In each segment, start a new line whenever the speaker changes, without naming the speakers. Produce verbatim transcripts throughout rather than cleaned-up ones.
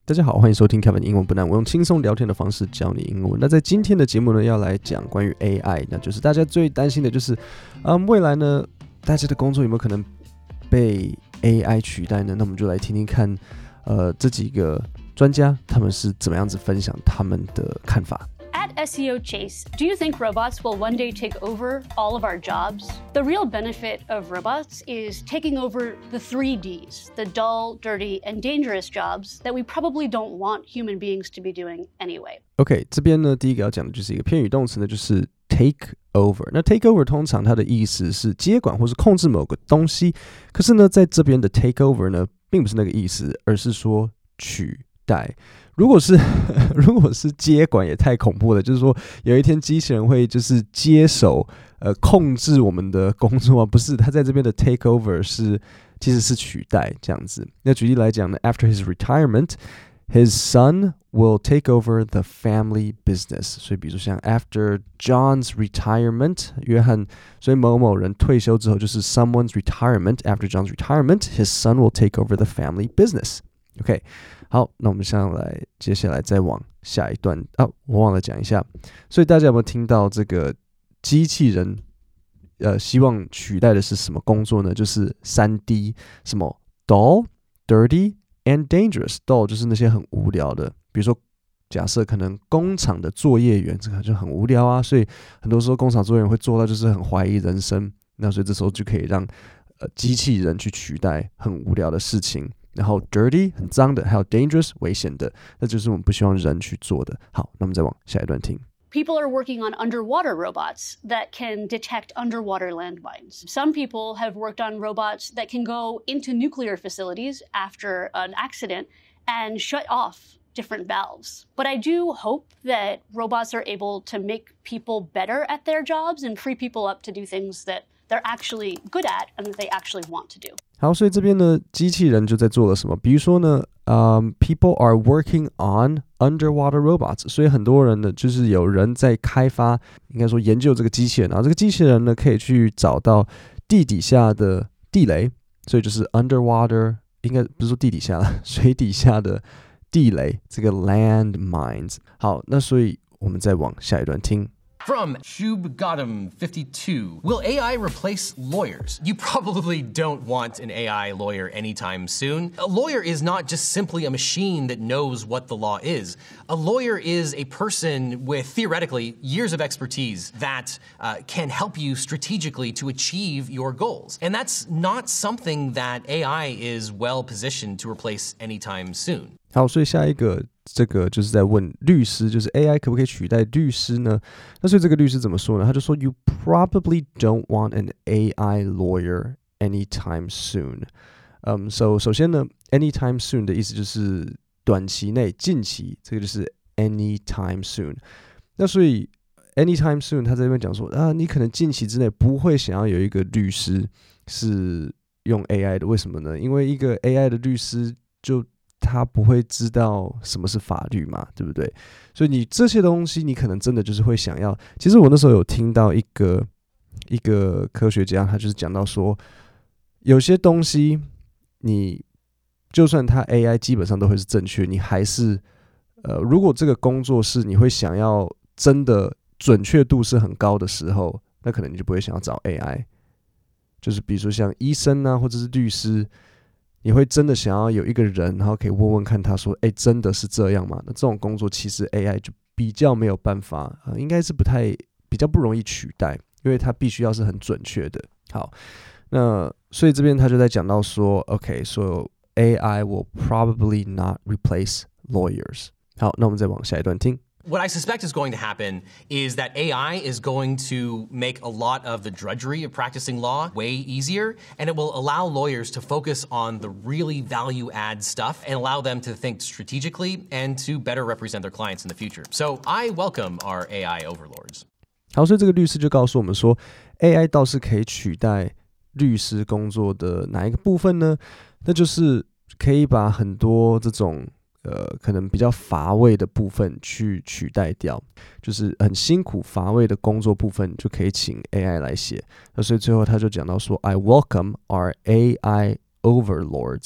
大家好，歡迎收聽 Kevin 英文不難，我用輕鬆聊天的方式教你英文。那在今天的節目呢，要來講關於 A I， 那就是大家最擔心的就是，嗯，未來呢，大家的工作有沒有可能被 A I 取代呢？那我們就來聽聽看，呃，這幾個專家他們是怎麼樣子分享他們的看法。
At S E O Chase, do you think robots will one day take over all of our jobs? The real benefit of robots is taking over the three Ds, the dull, dirty, and dangerous jobs that we probably don't want human beings to be doing anyway.
OK, 這邊呢，第一個要講的就是一個片語動詞呢，就是 take over。那 take over 通常它的意思是接管或是控制某個東西，可是呢，在這邊的 take over 呢，並不是那個意思，而是說取代。如果是如果是接管也太恐怖了，就是說有一天機器人會就是接手呃控制我們的工作啊，不是，他在這邊的 take over 是其實是取代這樣子。那舉例來講呢 ，after his retirement, his son will take over the family business。所以比如說像 after John's retirement， 約翰，所以某某人退休之後就是 someone's retirement. After John's retirement, his son will take over the family business。OK。好，那我們下來，接下來再往下一段啊，我忘了講一下，所以大家有沒有聽到這個機器人，呃，希望取代的是什麼工作呢？就是三 D， 什麼 dull, dirty and dangerous。dull 就是那些很無聊的，比如說假設可能工廠的作業員，這個就很無聊啊，所以很多時候工廠作業員會做到就是很懷疑人生，那所以這時候就可以讓呃機器人去取代很無聊的事情。然後 dirty 很髒的，還有 dangerous 危險的，那就是我們不希望人去做的。好，那我們再往下一段聽。
People are working on underwater robots that can detect underwater landmines. Some people have worked on robots that can go into nuclear facilities after an accident and shut off different valves. But I do hope that robots are able to make people better at their jobs and free people up to do things that they're actually good at and that they actually want to do.
好，所以這邊呢，機器人就在做了什麼？比如說呢，嗯 ，people are working on underwater robots， 所以很多人呢，就是有人在開發，應該說研究這個機器人，然後這個機器人呢，可以去找到地底下的地雷，所以就是 underwater， 應該不是說地底下了，水底下的地雷，這個 landmines。好，那所以我們再往下一段聽。
From Shubgadam fifty-two, will A I replace lawyers? You probably don't want an A I lawyer anytime soon. A lawyer is not just simply a machine that knows what the law is. A lawyer is a person with, theoretically, years of expertise that uh, can help you strategically to achieve your goals. And that's not something that A I is well positioned to replace anytime soon.
好，所以下一個這個就是在問律師，就是 A I 可不可以取代律師呢？那所以這個律師怎麼說呢？他就說 You probably don't want an A I lawyer anytime soon. Um, so 首先呢 anytime soon 的意思就是短期內、近期，這個就是 anytime soon. 那所以 anytime soon 他在這邊講說啊，你可能近期之內不會想要有一個律師是用 A I 的，為什麼呢？因為一個 A I 的律師就他不會知道什麼是法律嘛，對不對？所以你這些東西，你可能真的就是會想要。其實我那時候有聽到一個一個科學家，他就是講到說，有些東西你就算他 A I 基本上都會是正確，你還是呃，如果這個工作是你會想要真的準確度是很高的時候，那可能你就不會想要找 A I。就是比如說像醫生啊，或者是律師。你會真的想要有一個人，然後可以問問看他說，哎，真的是這樣嗎？那這種工作其實 A I 就比較沒有辦法，呃、應該是不太比較不容易取代，因為它必須要是很準確的。好，那所以這邊他就在講到說 ，OK， so A I will probably not replace lawyers。好，那我們再往下一段聽。
What I suspect is going to happen is that A I is going to make a lot of the drudgery of practicing law way easier, and it will allow lawyers to focus on the really value-add stuff and allow them to think strategically and to better represent their clients in the future. So I welcome our A I overlords.
好，所以這個律師就告訴我們說 ，A I 倒是可以取代律師工作的哪一個部分呢？那就是可以把很多這種呃，可能比較乏味的部分去取代掉，就是很辛苦乏味的工作部分就可以請 A I 來寫。那所以最後他就講到說 ，I welcome our A I overlords。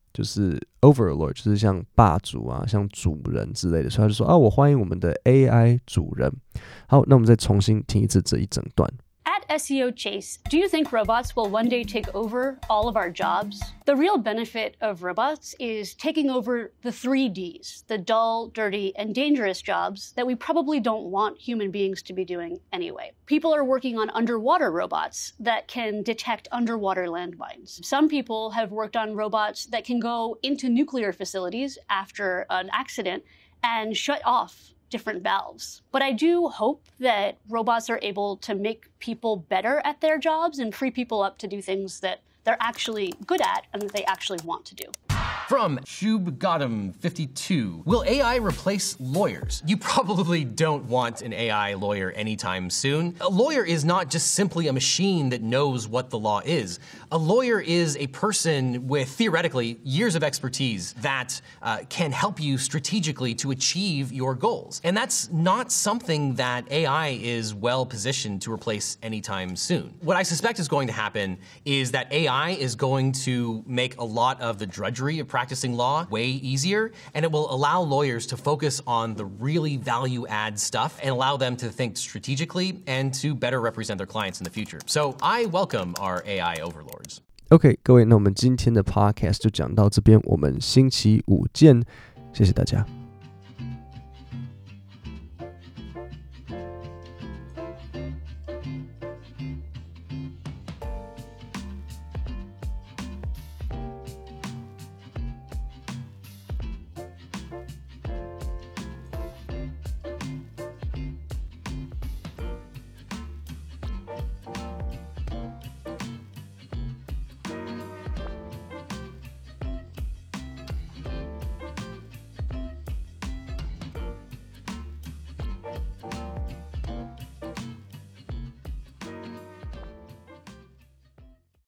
就是 overlord， 就是像霸主啊，像主人之類的，所以他就說啊，我歡迎我們的 A I 主人。好，那我們再重新聽一次這一整段。
At S E O Chase, do you think robots will one day take over all of our jobs? The real benefit of robots is taking over the three Ds, the dull, dirty, and dangerous jobs that we probably don't want human beings to be doing anyway. People are working on underwater robots that can detect underwater landmines. Some people have worked on robots that can go into nuclear facilities after an accident and shut off different valves. But I do hope that robots are able to make people better at their jobs and free people up to do things that they're actually good at and that they actually want to do.
From Shubgadam fifty-two, will A I replace lawyers? You probably don't want an A I lawyer anytime soon. A lawyer is not just simply a machine that knows what the law is. A lawyer is a person with, theoretically, years of expertise that uh, can help you strategically to achieve your goals. And that's not something that A I is well positioned to replace anytime soon. What I suspect is going to happen is that A I is going to make a lot of the drudgery of practicing law way easier, and it will allow lawyers to focus on the really value-add stuff and allow them to think strategically and to better represent their clients in the future. So I welcome our A I overlords.
OK， 各位，那我們今天的 podcast 就講到這邊，我們星期五見，謝謝大家。